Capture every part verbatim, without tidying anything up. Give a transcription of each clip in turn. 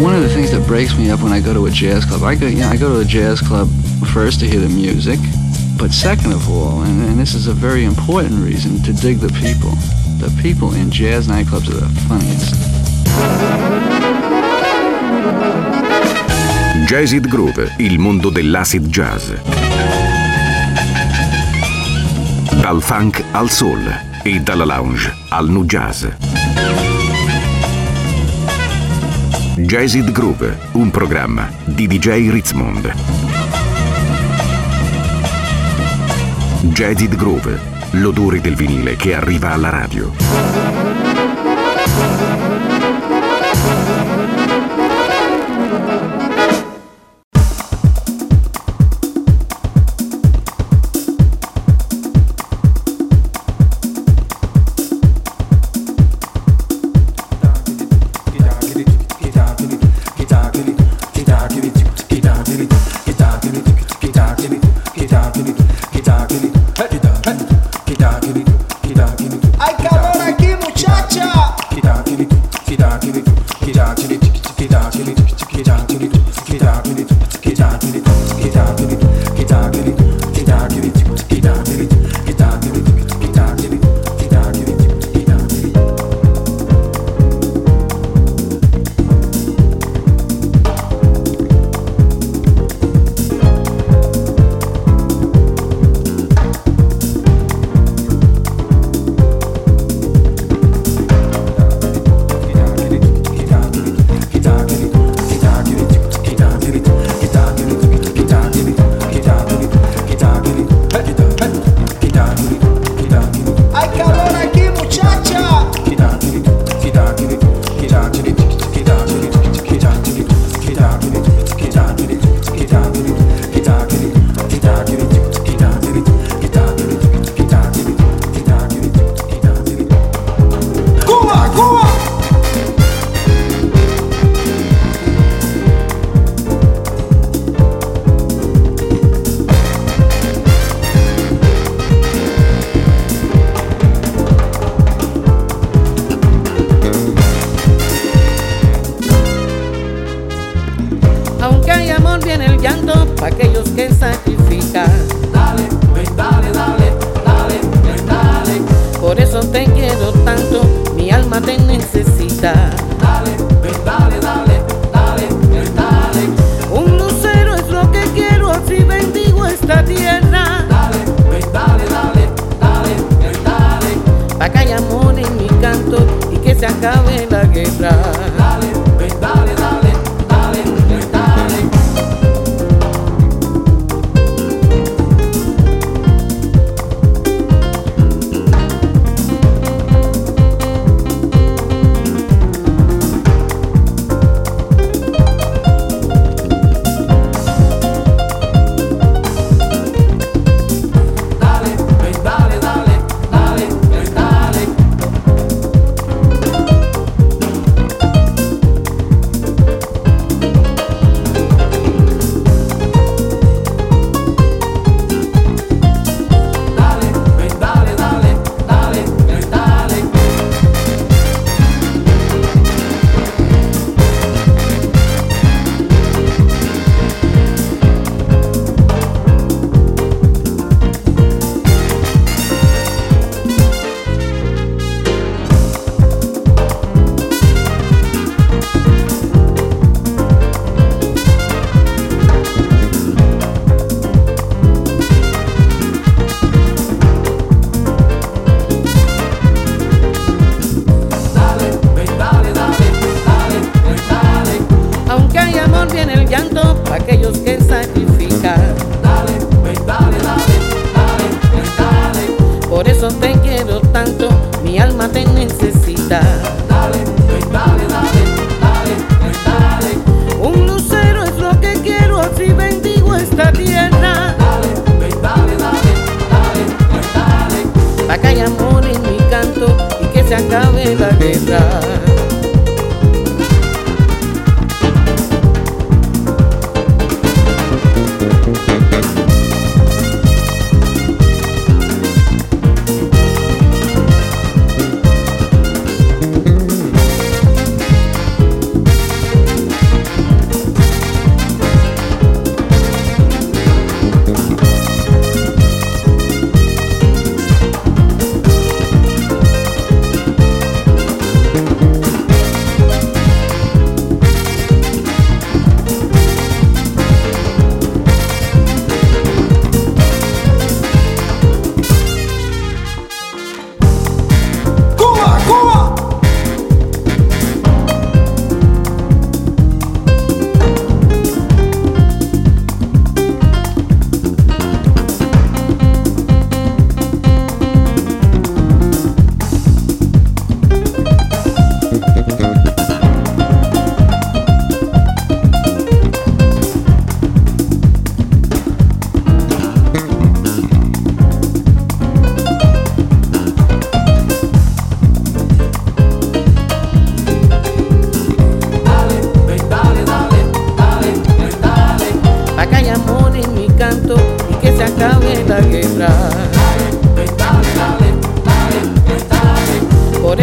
one of the things that breaks me up when I go to a jazz club, I go, you know, I go to a jazz club first to hear the music, but second of all, and, and this is a very important reason, to dig the people. The people in jazz nightclubs are the funniest. Jazzid Groove, il mondo dell'acid jazz. Dal funk al soul e dalla lounge al nu jazz. Jazzid Groove, un programma di D J Ritzmond. Jazzid Groove, l'odore del vinile che arriva alla radio.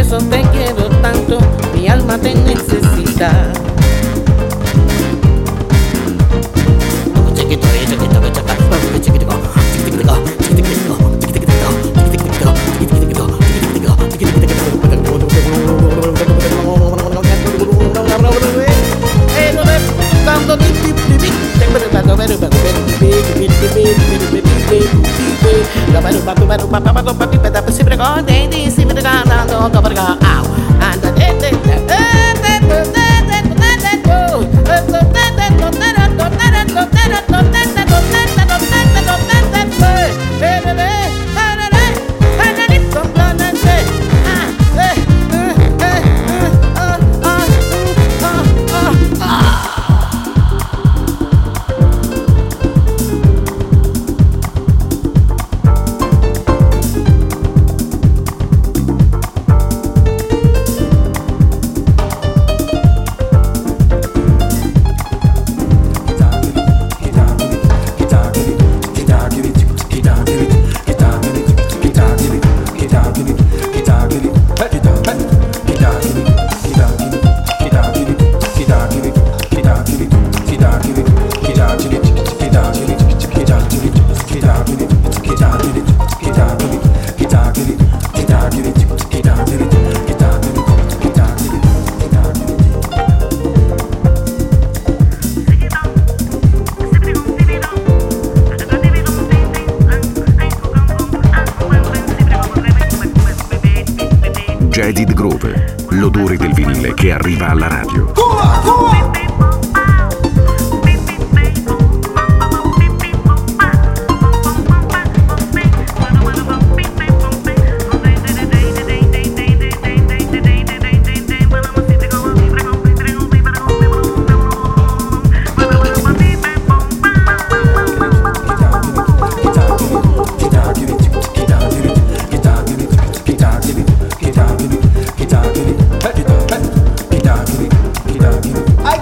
eso te quiero tanto, mi alma te necesita. Jaded Groove, l'odore del vinile che arriva alla radio. I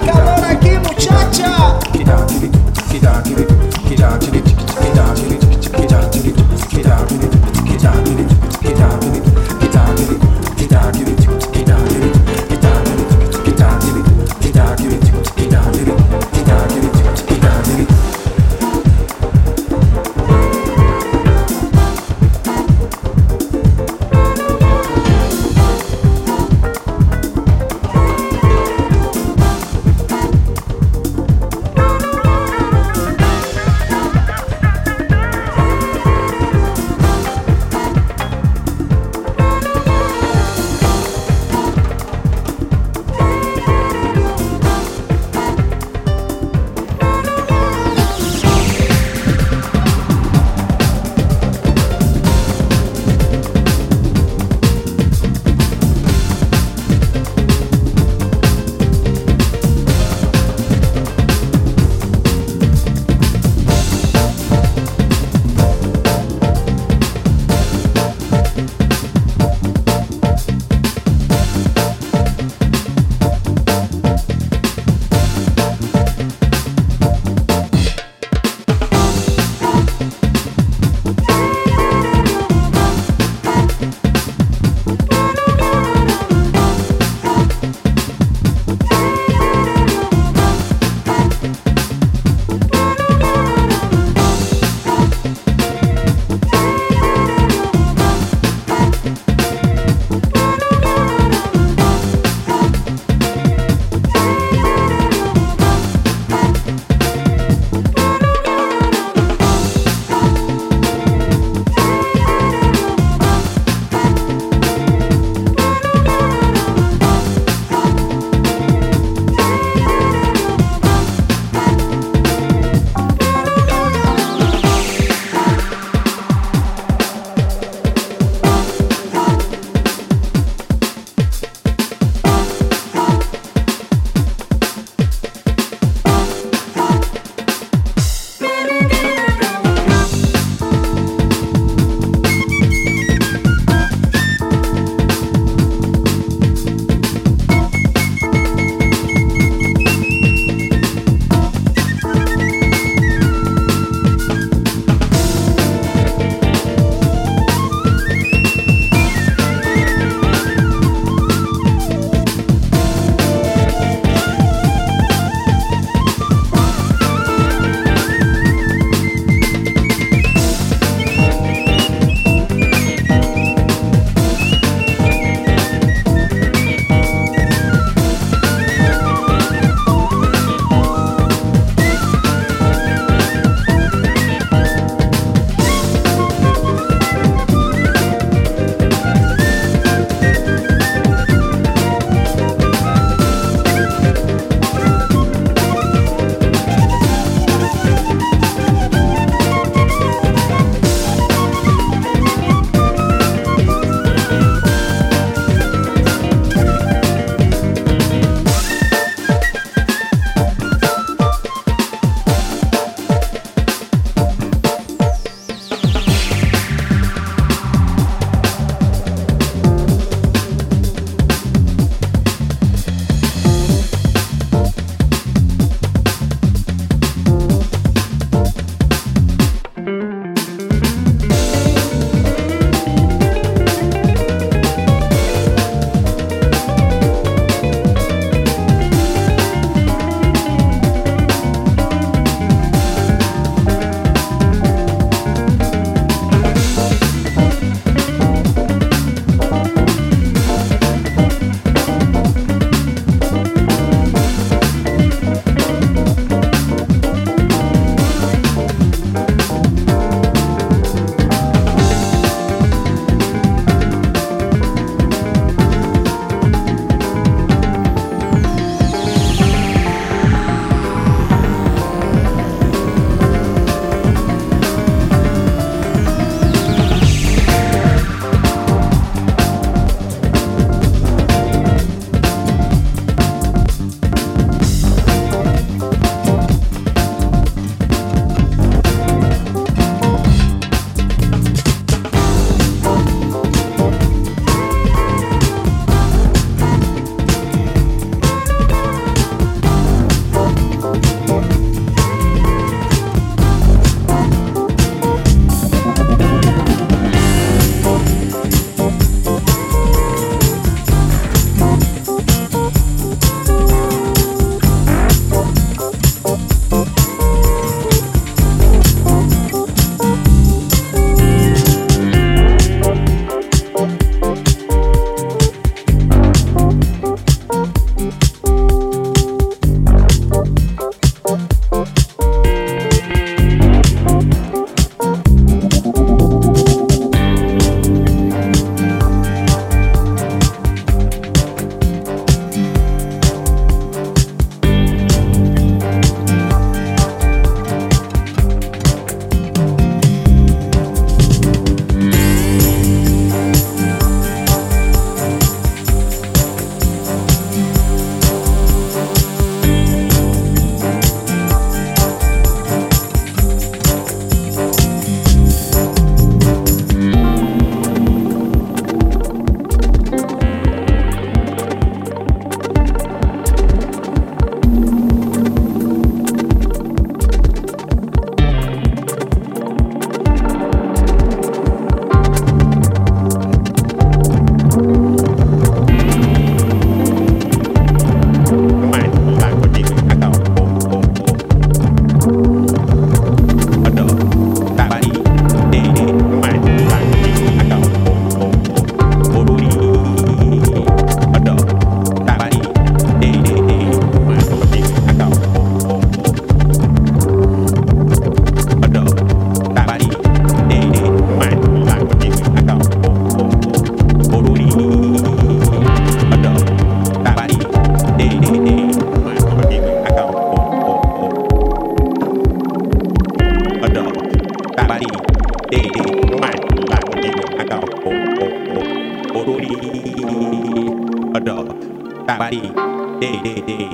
dog, body, day, day, day.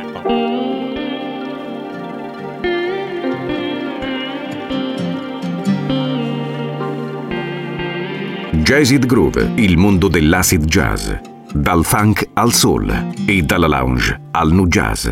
Jazzid Groove, il mondo dell'acid jazz, dal funk al soul e dalla lounge al nu jazz.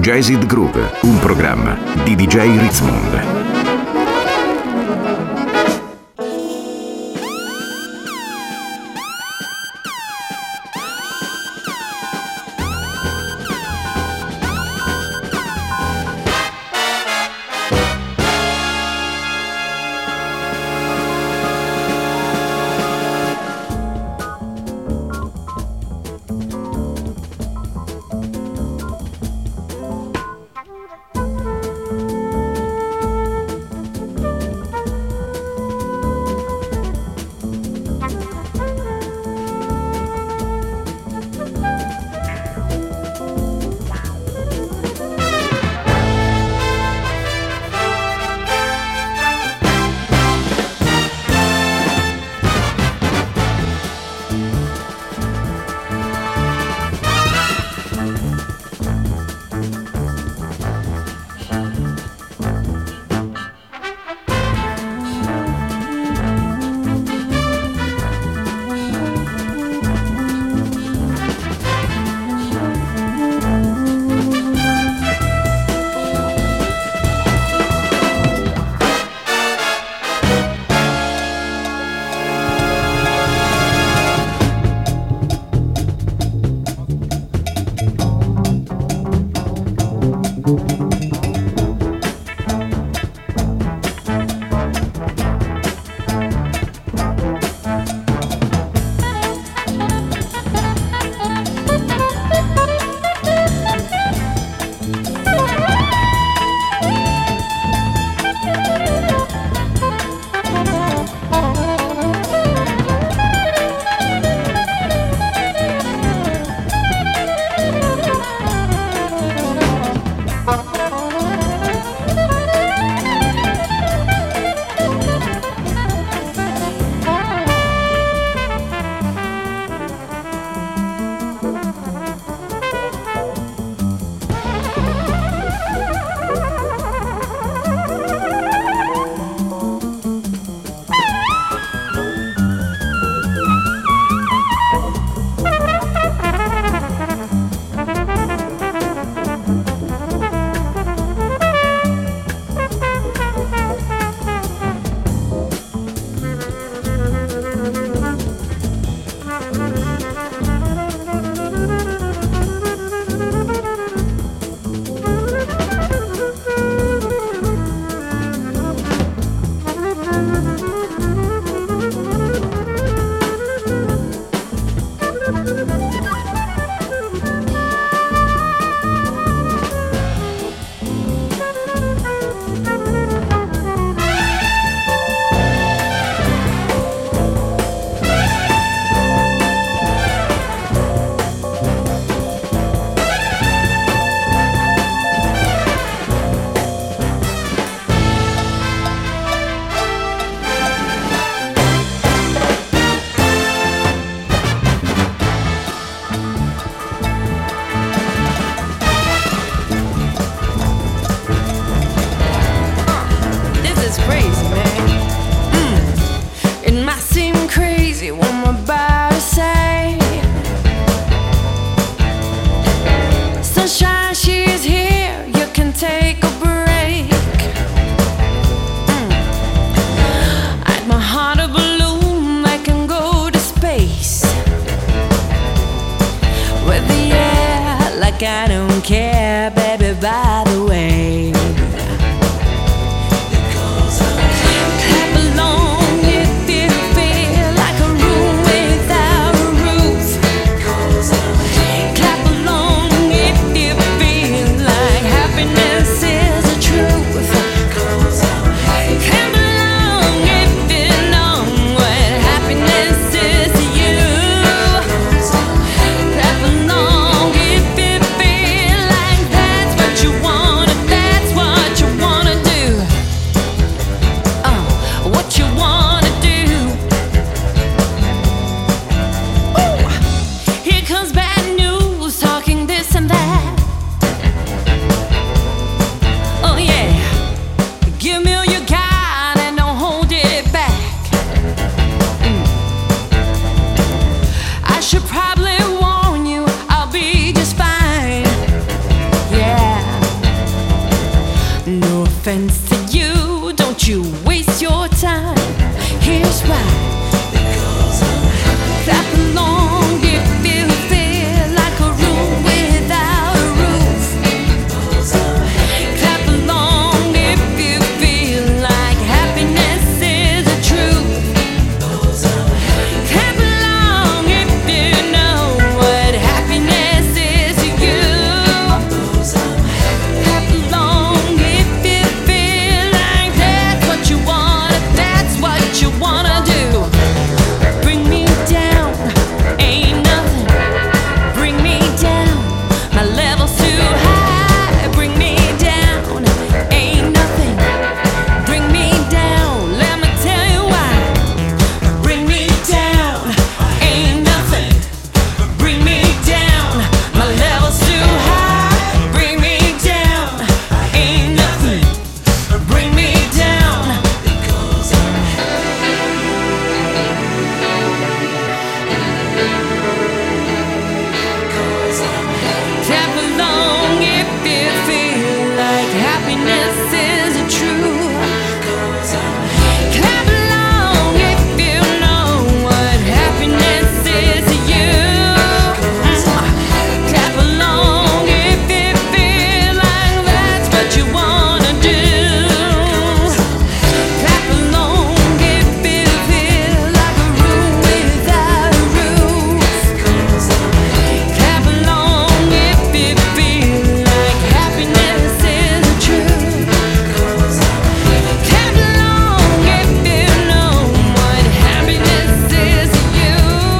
Jazzed Groove, un programma di D J Ritzmond. I don't care, baby, by the way. Clap along if it feels like a room without a roof. Clap along if it feels like happiness is the truth. Clap along if you know what happiness is to you. Clap along if it feels like Here's why. Clap along if you feel like a room without a roof. Clap along if you feel like happiness is the truth. Clap along if you know what happiness is to you. Clap along if you feel like that's what you want, that's what you wanna do. Bring me down, ain't nothing. Bring me down, my level's too high. Bring me down, ain't nothing. Bring me down, let me tell you why. Bring me down, ain't nothing. Bring me down, my level's too high. Bring me down, ain't nothing. Bring me down. Clap along if you feel like happiness is the truth. Clap along if you know what happiness is to you. Clap along if you feel like that's what you wanna do. Clap along if you feel like a room without a roof. Clap along if you feel like happiness is the truth. Clap along if you know what happiness is to you.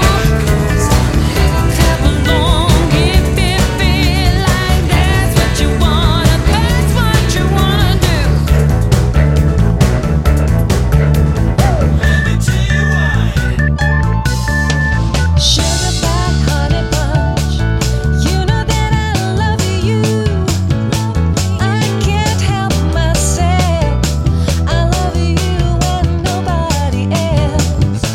Clap along if you feel like that's what you wanna, that's what you wanna do. Sugar pie, honey bunch, you know that I love you. I can't help myself. I love you and nobody else.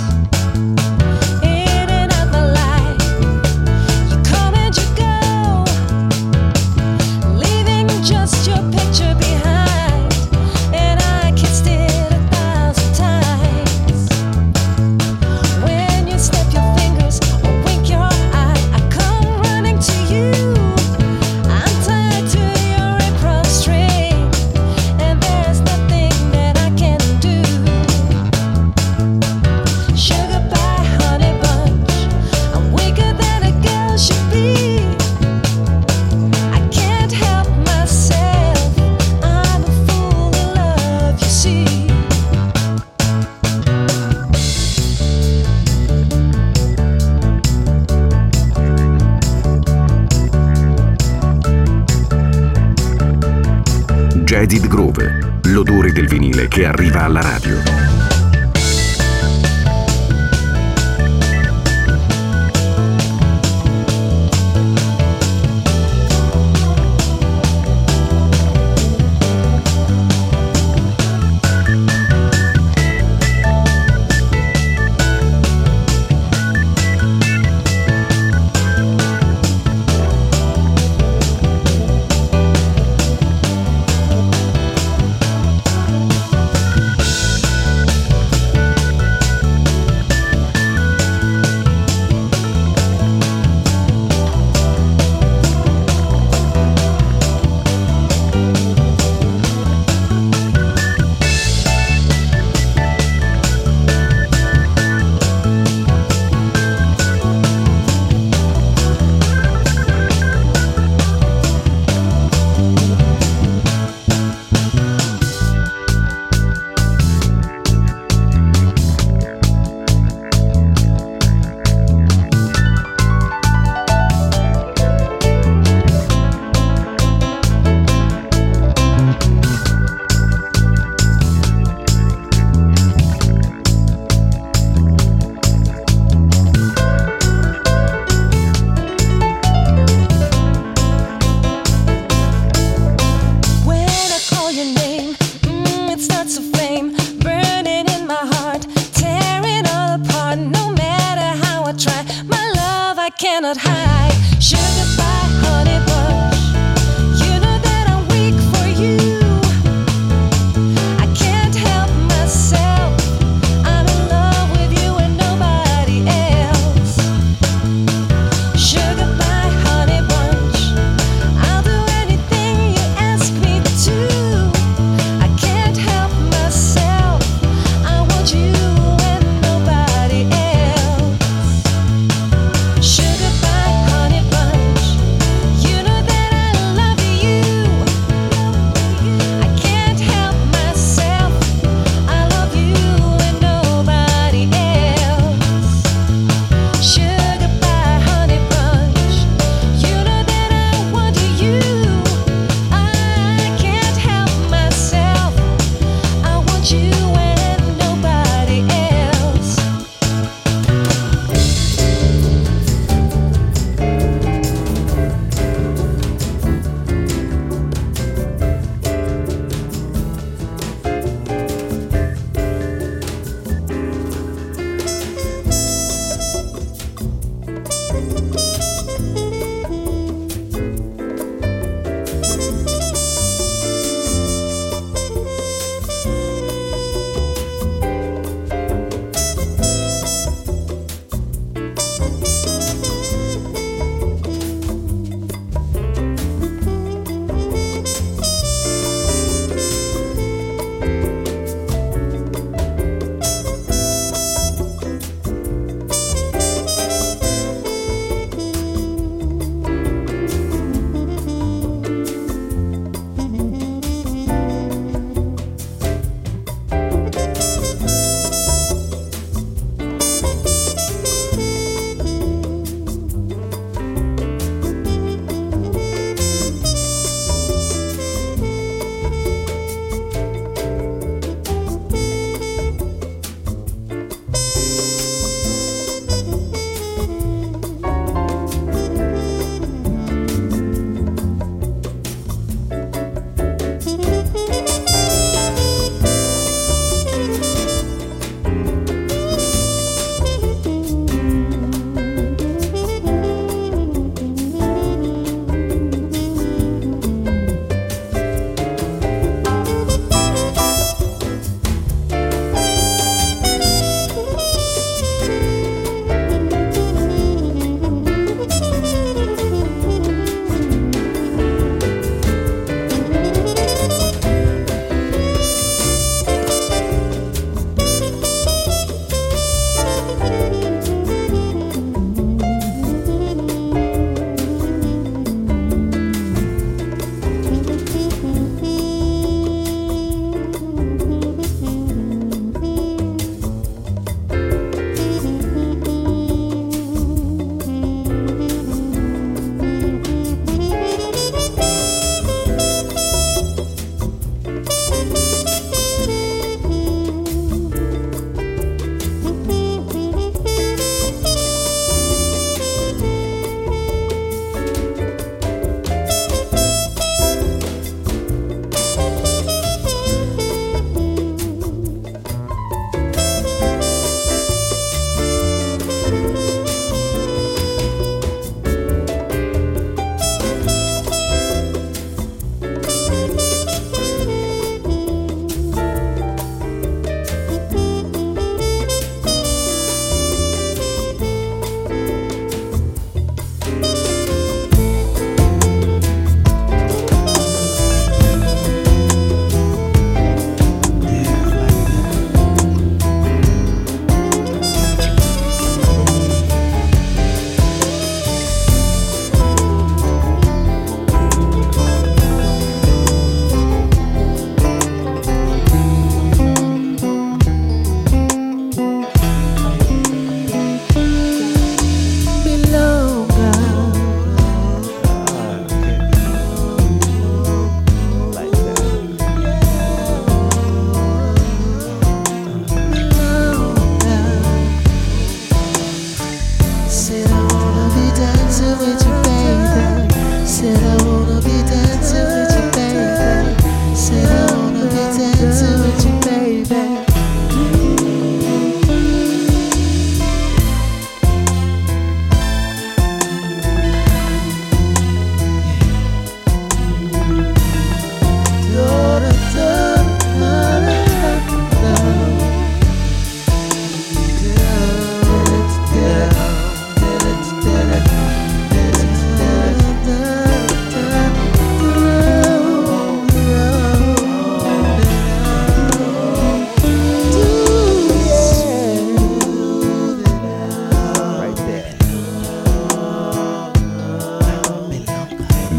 In and out my life, you come and you go, leaving just your picture behind. And I kissed it a thousand times. When you snap your fingers or wink your eye, I come running to you. I'm tied to your apron string, and there's nothing that I can do. Sugar pie, honey bunch, I'm weaker than a girl should be. I can't help myself, I'm a fool in love, you see. Jaded Groove, l'odore del vinile che arriva alla radio. cannot hide. Sugar pie, honey bunch, you know that I'm weak for you. I can't help myself, I'm in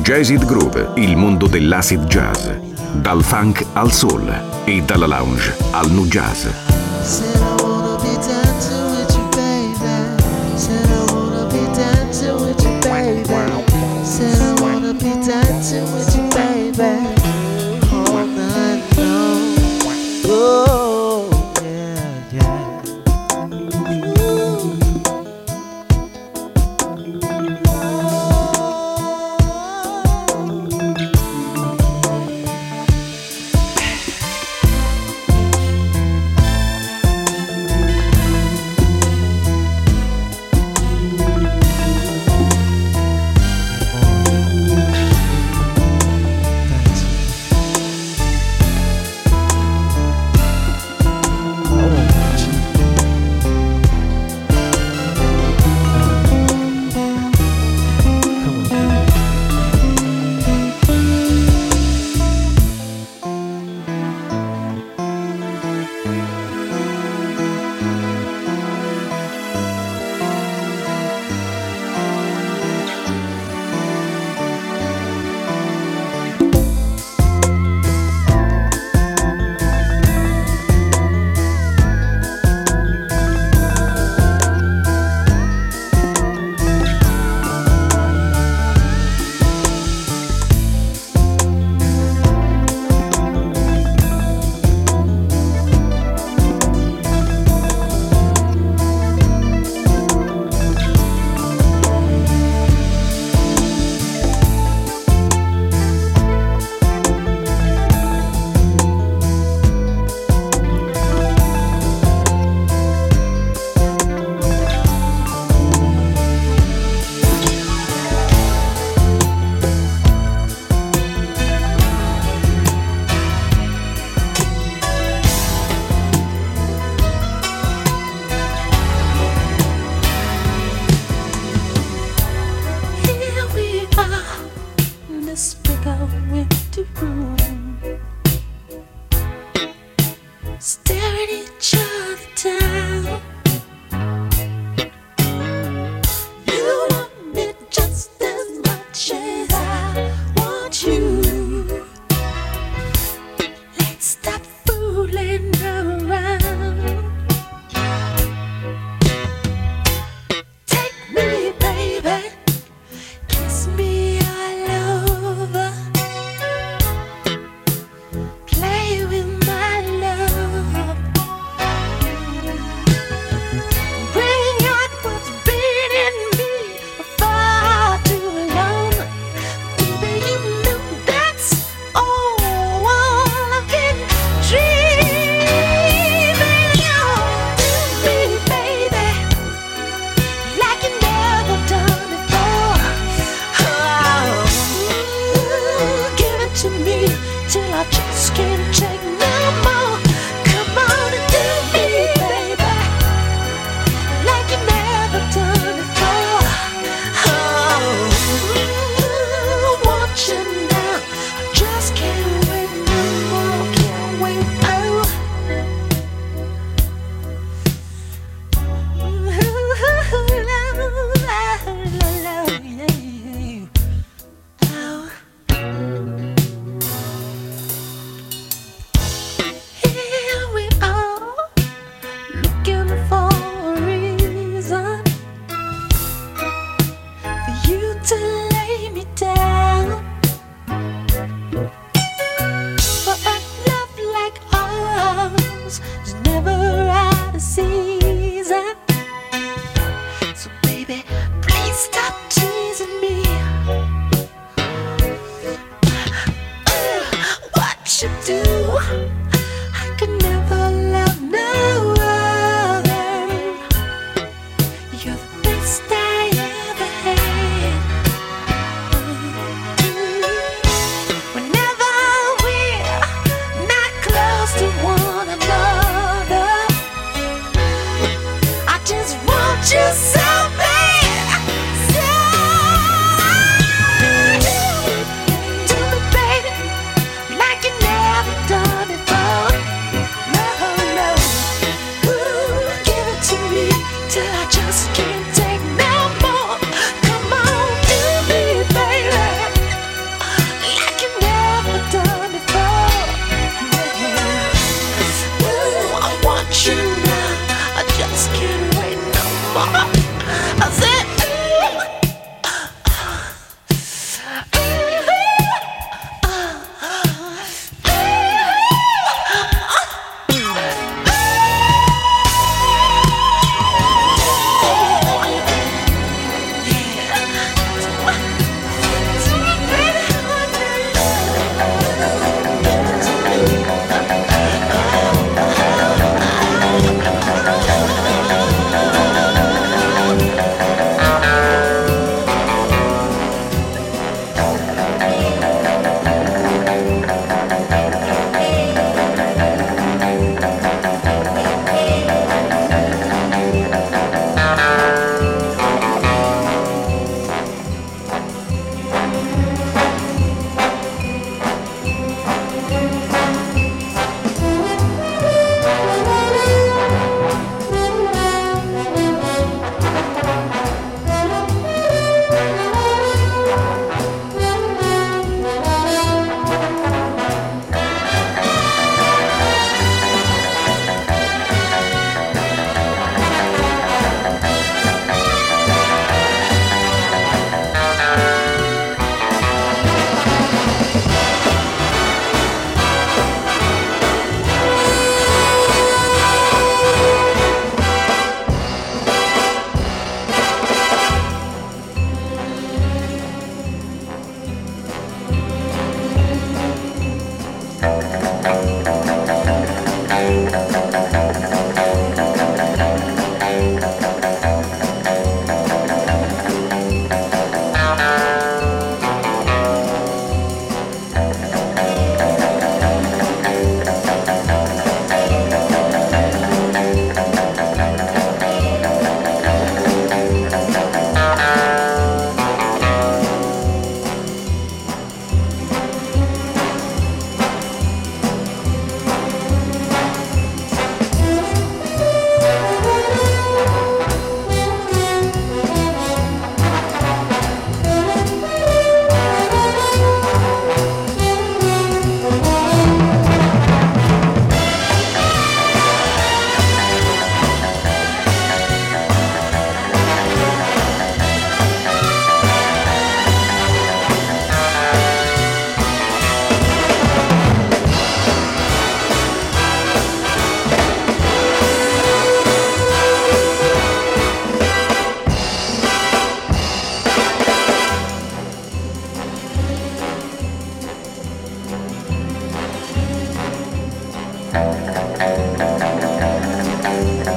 Jazzed Groove, il mondo dell'acid jazz. Dal funk al soul e dalla lounge al nu jazz. Said I wanna be dancing with you, baby. Said I wanna be dancing with you, baby. Said I wanna be dancing with you, baby. All night long. Oh, yeah, yeah. Ooh.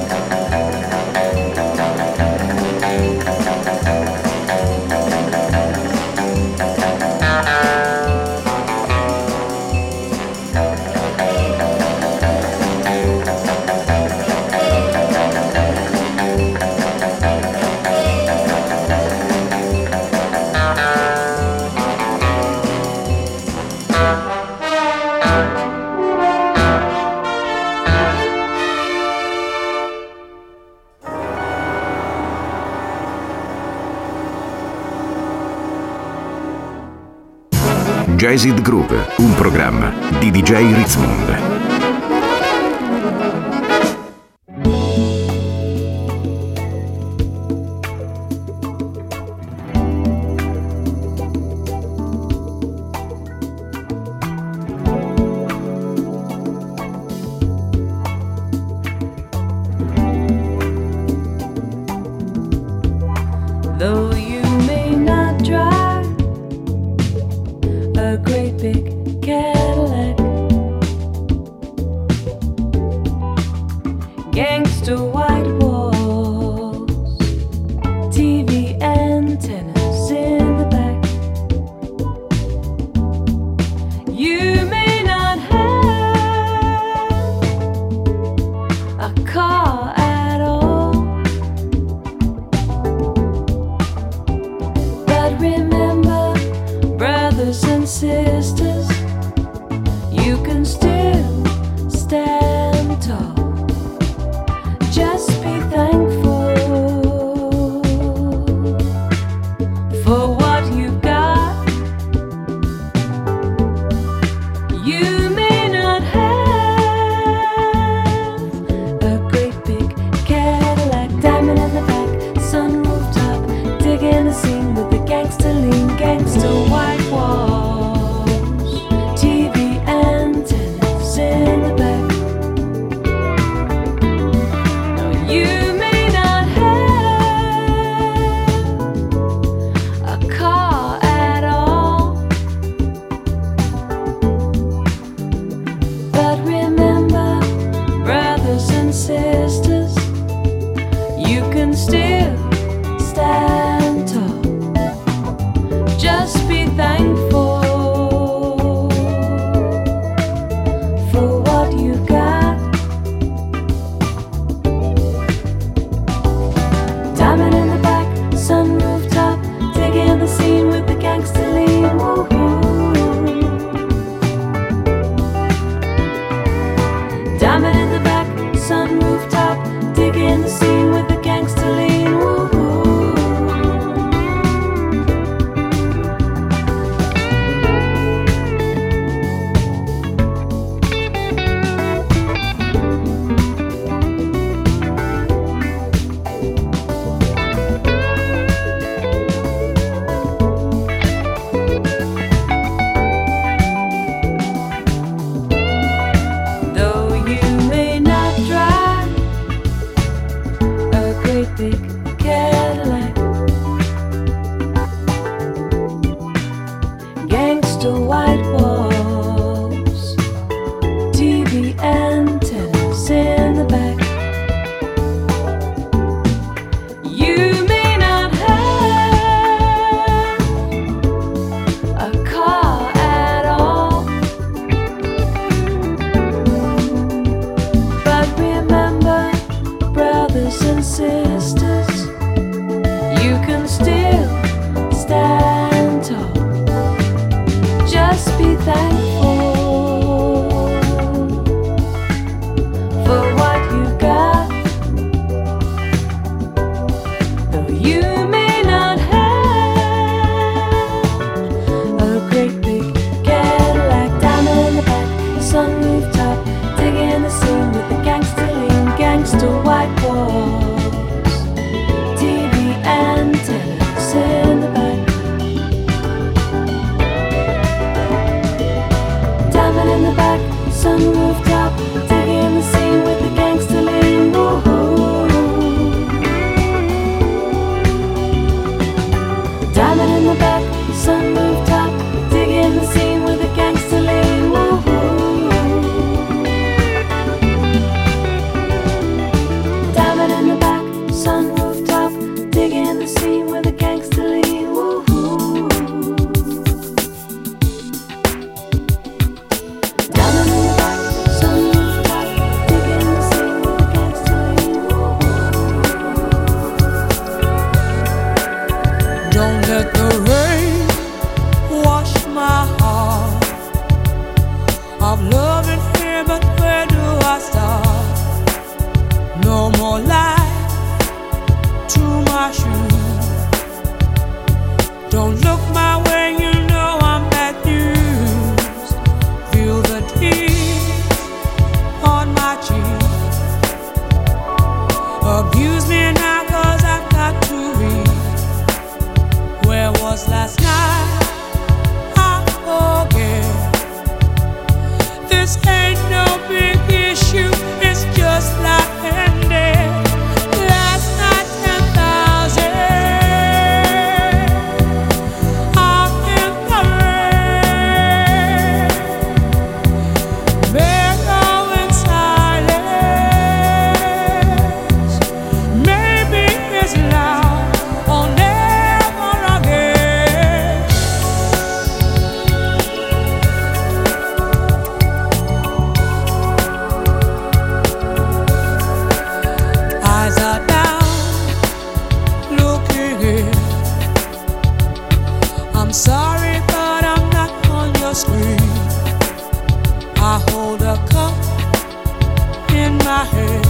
Jazzed Groove, un programma di D J Ritzmond. Though you may not drive a great big Cadillac, gangster white walls, T V antennas in the back. You may not have a car at all, but remember, brothers and sisters, you can still stand tall. Just be thankful for what you've got. You may not have a great big Cadillac, diamond in the back, sunroof top, digging the scene with the gangster lean, gangster white walls, T V antennas in the back. No, you may not have a car at all, but remember, brothers and sisters, you can still stand tall. Just be thankful for what you got. Diamond in the back, sunroof top, digging the scene with the gangster lean. Woo-hoo. Diamond in the back, sunroof top, digging the scene with the gangster lean. Woo-hoo. Though you may not drive a great big Cadillac, gangster white walls, T V antennas in the back. You may not have a car at all, but remember, brothers and sisters, you can still stand tall. Just be thankful for what you've got. Though you may not have a great big Cadillac, diamond in the back, sunroof top, digging the scene with the gangster lean, gangster white walls, Abuse me now 'cause I've got to read. Where was last night? I forget. This ain't no big issue, it's just like ended. Last night ten thousand out in the rain. May go in silence. Maybe it's loud or never again. Eyes are down, looking in. I'm sorry, but I'm not on your screen. I hold a cup in my hand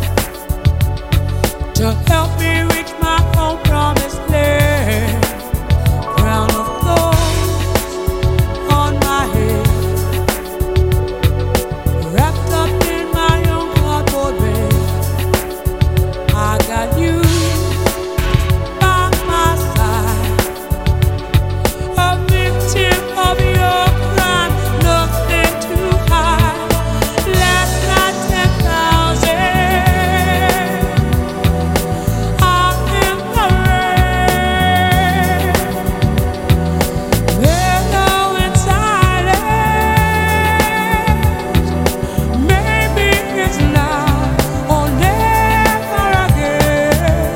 to help me reach my own promised land. Crown of thorns on my head, wrapped up in my own cardboard bed. I got you by my side, a victim of your crime, nothing too high. Last night ten thousand out in the rain. They're going silent. Maybe it's now or never again.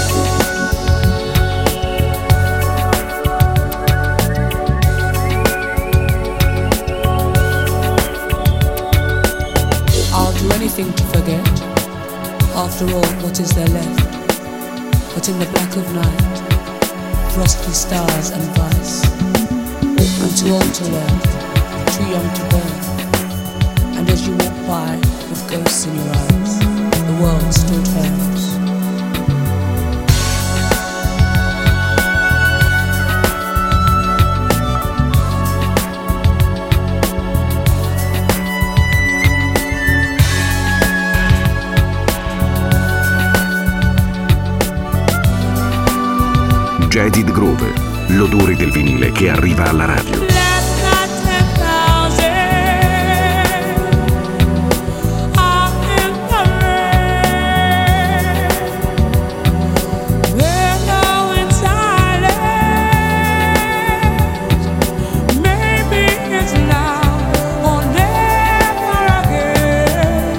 I'll do anything to forget. After all, what is there left? But in the black of night, frosty stars and vice. I'm too old to learn, too young to burn. And as you walk by with ghosts in your eyes, the world still turns. Jaded Groove, l'odore del vinile che arriva alla radio. Last night ten thousand out in the rain. They're going silent. Maybe it's now or never again.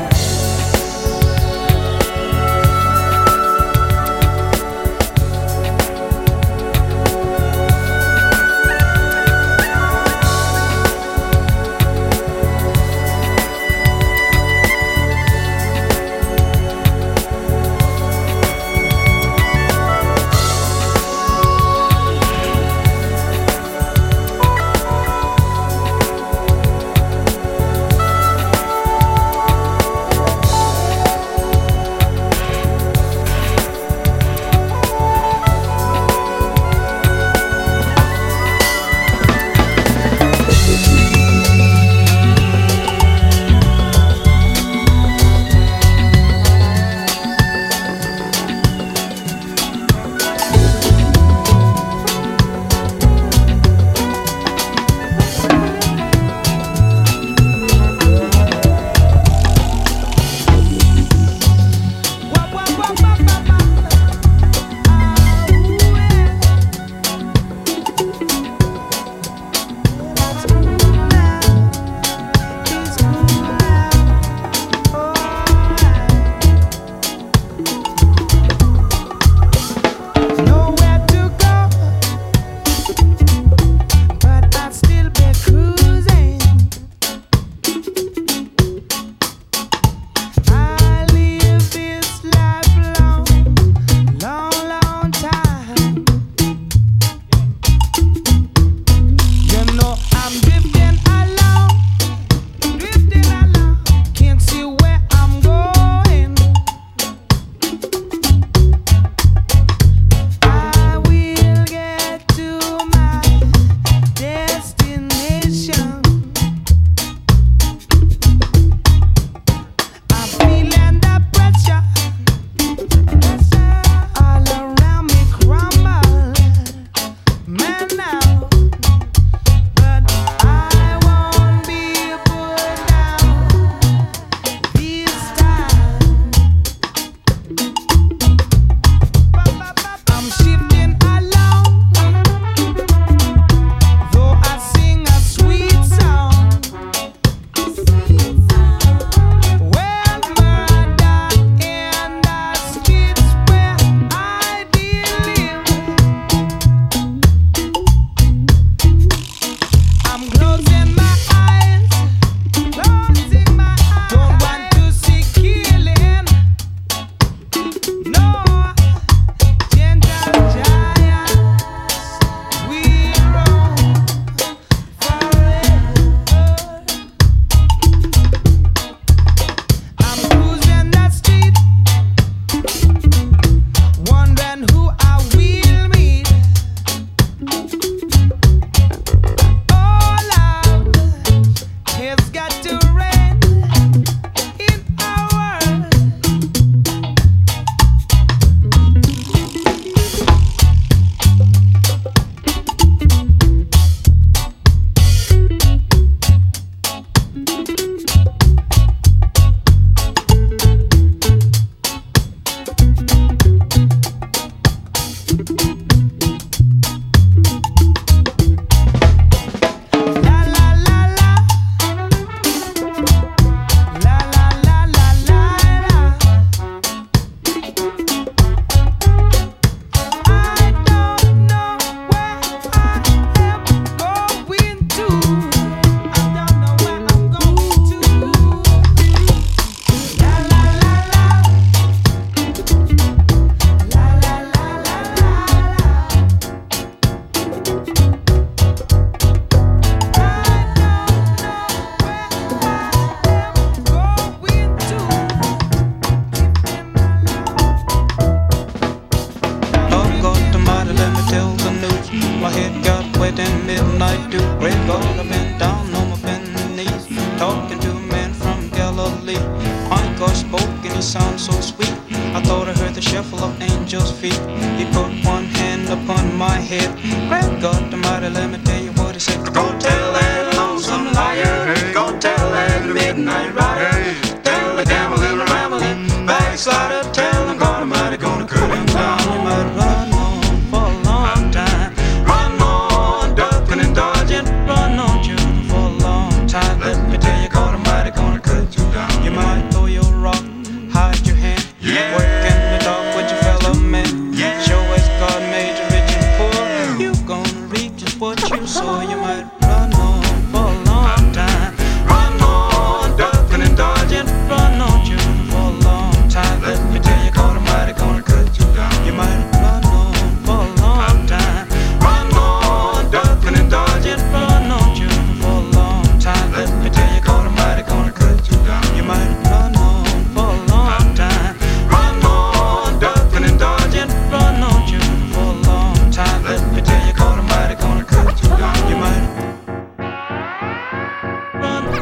midnight dew. Great God, I've been down on my bending knees, talking to a man from Galilee. My God spoke and he sounded so sweet. I thought I heard the shuffle of angels' feet. He put one hand upon my head. Great God Almighty, let me tell you what he said. Go tell that lonesome liar, go tell that midnight rider, tell the gambling, rambling backslider, tell him God Almighty gonna cut him down. You might run on for a long time, run on ducking and dodging, run on shooting for a long time. Let me tell you, God Almighty gonna cut you down. You might throw your rock, hide your hand, yeah. Work in the dark with your fellow man, yeah. Show as God made you rich and poor, you gonna reap just what you sow. You might run on for a long time, run on ducking and dodging, run on shooting for a long time. Let me tell you, God Almighty gonna cut you down. You might run on for a long time, run on ducking and dodging, run on shooting for a long time. Let me tell you, God Almighty gonna cut you down. You might run on for a long time, run on ducking and dodging, run on shooting for a long time. Let me tell you, God Almighty gonna cut you down. You might run, run,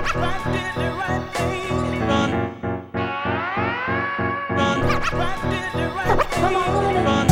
run, come on, run.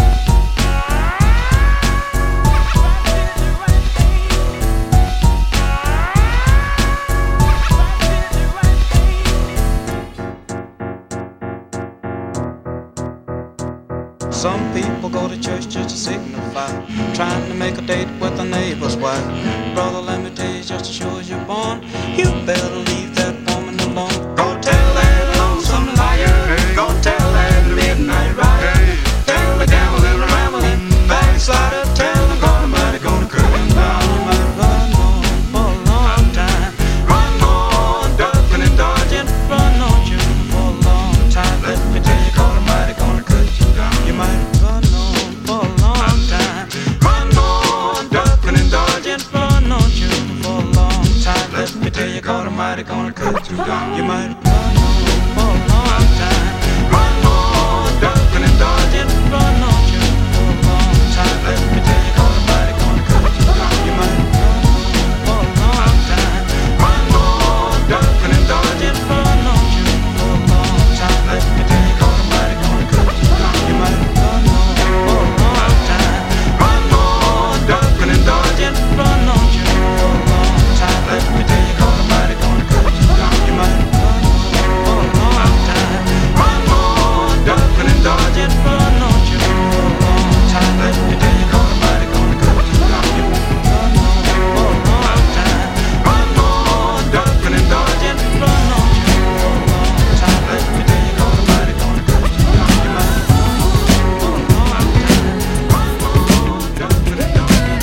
Some people go to church just to signify, trying to make a date with a neighbor's wife. Brother, let me tell you, just as sure as you're born, you better leave that woman alone. Go tell that lonesome liar, go tell that midnight rider, tell the gambling, rambling backslider, tell the God Almighty gonna cut him down. You might run on for a long time, run on ducking and dodging, run on shooting for a long time. Let me tell you, God Almighty gonna cut you down. You might run on for a long time, run on ducking and dodging, run on shooting for a long time. Let me tell you, God Almighty gonna cut you down. You might run on for a long time, run on ducking and dodging, run on shooting for a long time. Let me tell you, God Almighty gonna cut you down. You might run on for a long time, run on ducking and dodging, run on shooting for a long time. Let me tell you, God Almighty gonna cut you down. You might run on for a long time, run on ducking and dodging, run on shooting for a long time. Let me tell you, God Almighty gonna cut you down. You might run on for a long time, run on ducking and dodging, run on shooting for a long time. Let me tell you, God Almighty gonna cut you down. You might run on for a long time, run on ducking and dodging, run on shooting for a long time. Let me tell you, God Almighty gonna cut you down. You might run on for a long time, run on ducking and dodging.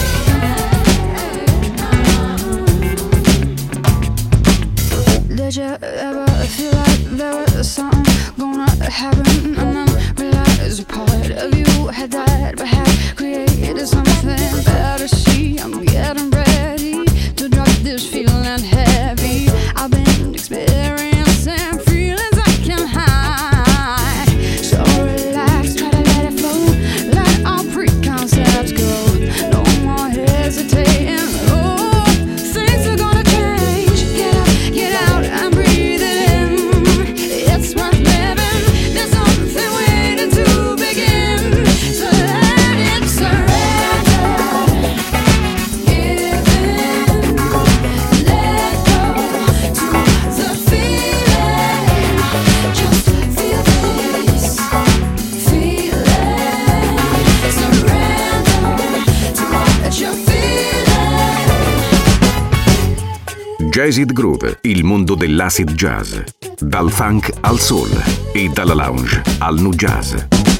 Did you ever feel like there was something gonna happen and then realize a part of you had died but had created something better? See, I'm getting ready to drop this feeling heavy. I've been experiencing feelings I can't hide. So relax, try to let it flow, let all preconcepts go. No more hesitating. Oh, things are gonna change. Get up, get out and breathe it in. It's worth living. There's something waiting to begin. So let it surrender. Give in. Let go to the feeling. Just feel this feeling. Surrender to what you're feeling. Jazzed Groove, il mondo dell'acid jazz. Dal funk al soul e dalla lounge al nu jazz.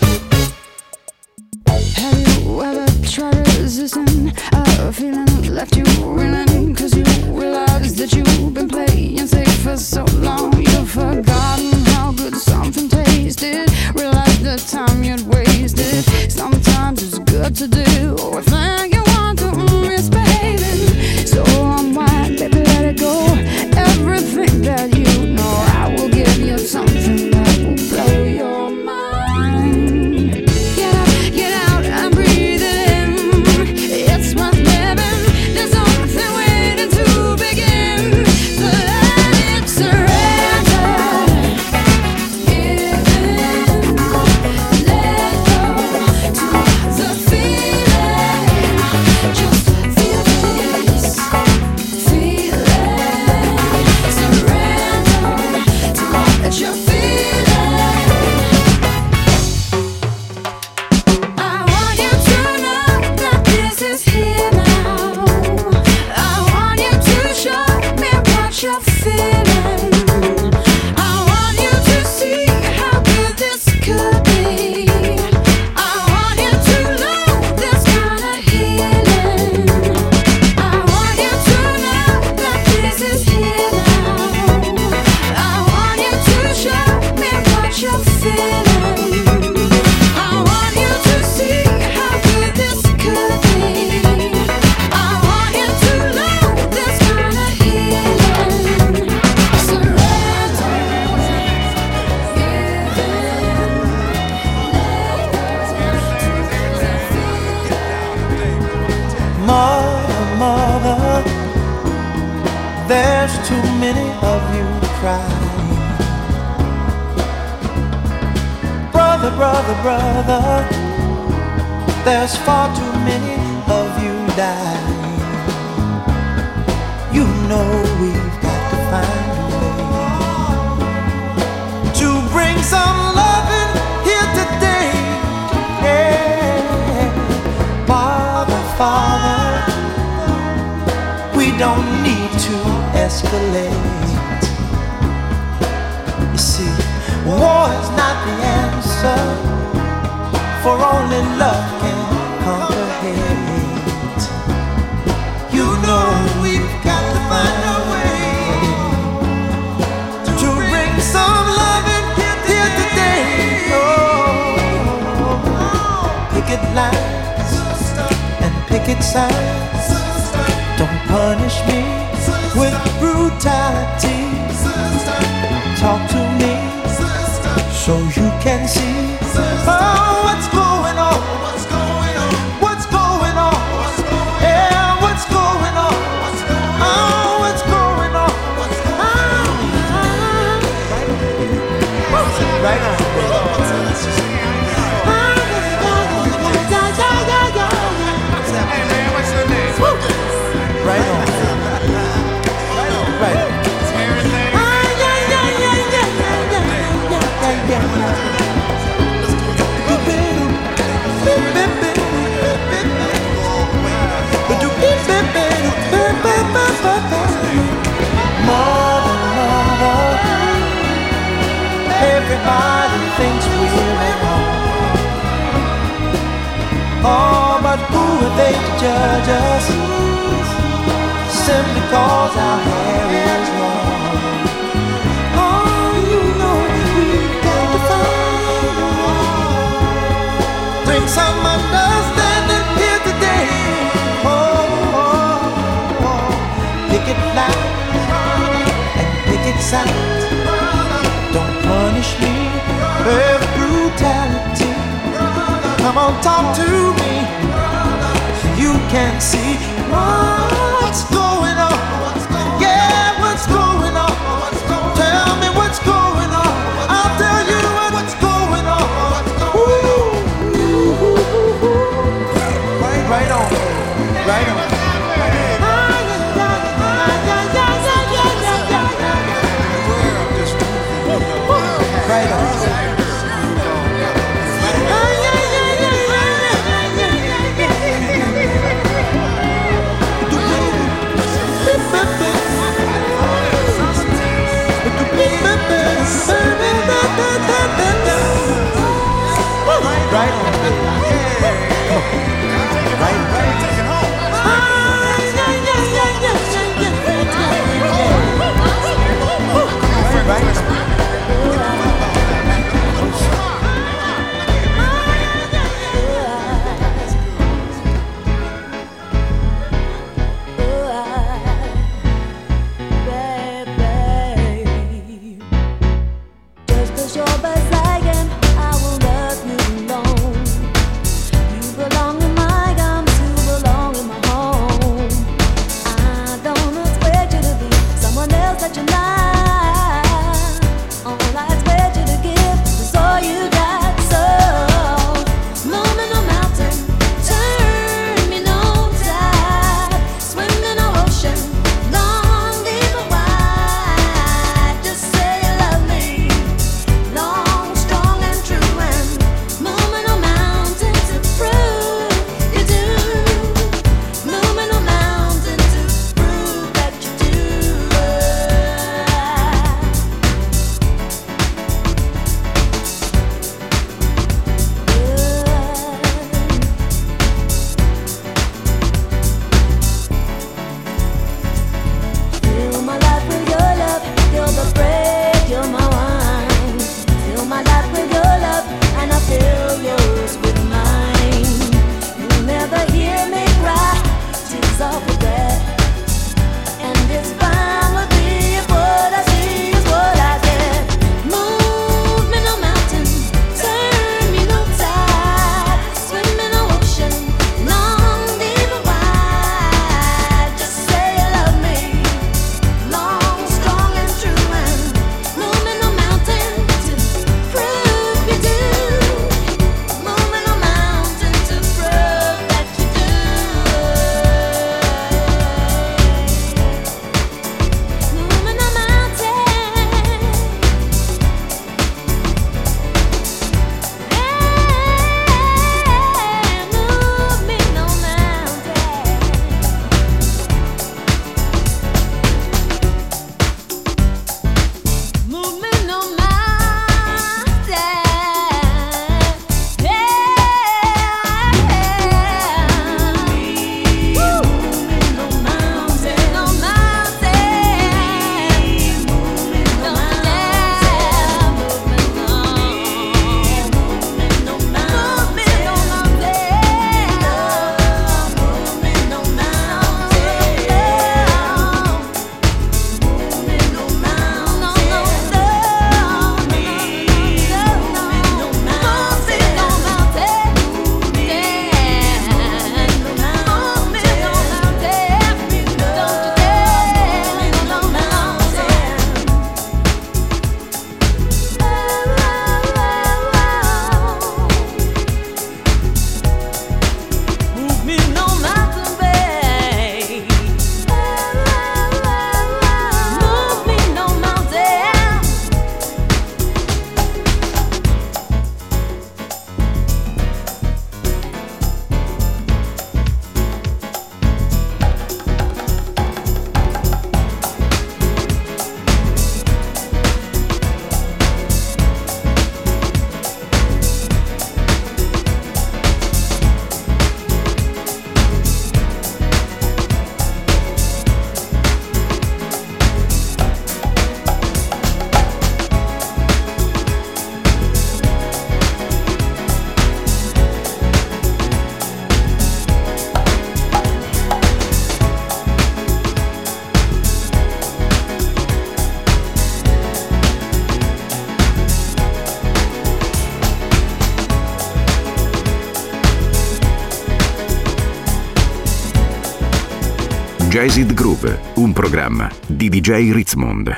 Have you ever tried resisting a feeling that left you reeling? Cause you realize that you've been playing safe for so long. You've forgotten how good something tasted. Realize the time you'd wasted. Sometimes it's good to do a thing you want to misbehaving. So unwind, baby, let it go. Everything that you know, I will give you something that will blow your mind. Get up, get out and breathe it in. It's worth living. There's too many of you crying. Brother, brother, brother, there's far too many of you dying. You know we've got to find a way to bring some loving here today. Yeah. Father, Father, we don't need to escalate. You see, war is not the answer, for only love can conquer hate. You know we've got to find a way to bring some loving here today. Oh, picket lines and picket signs, don't punish me with brutality. Talk to me so you can see. Oh, what's going on? What's going on? What's going on? Yeah, what's going on? Oh, what's going on? Right on. Hey man, what's your name? Right on. Right on. Everything. Mother, mother, everybody thinks we're wrong. Oh, but who are they to judge us? Simply cause our hair is long. Oh, you know we've got to find a way. Bring some understanding here today. Oh, oh, oh. Picket line and picket sign. Don't punish me with brutality. Come on, talk to me so you can see what's going on. Yeah, what's going on? Tell me what's going on. I'll tell you what's going on. Ooh. Right on, right on. Right on. Right on. Right, right. Just 'cause you're Brazilian, I will love you alone. You belong in my arms, you belong in Jazzed Groove, un programma di D J Ritzmond.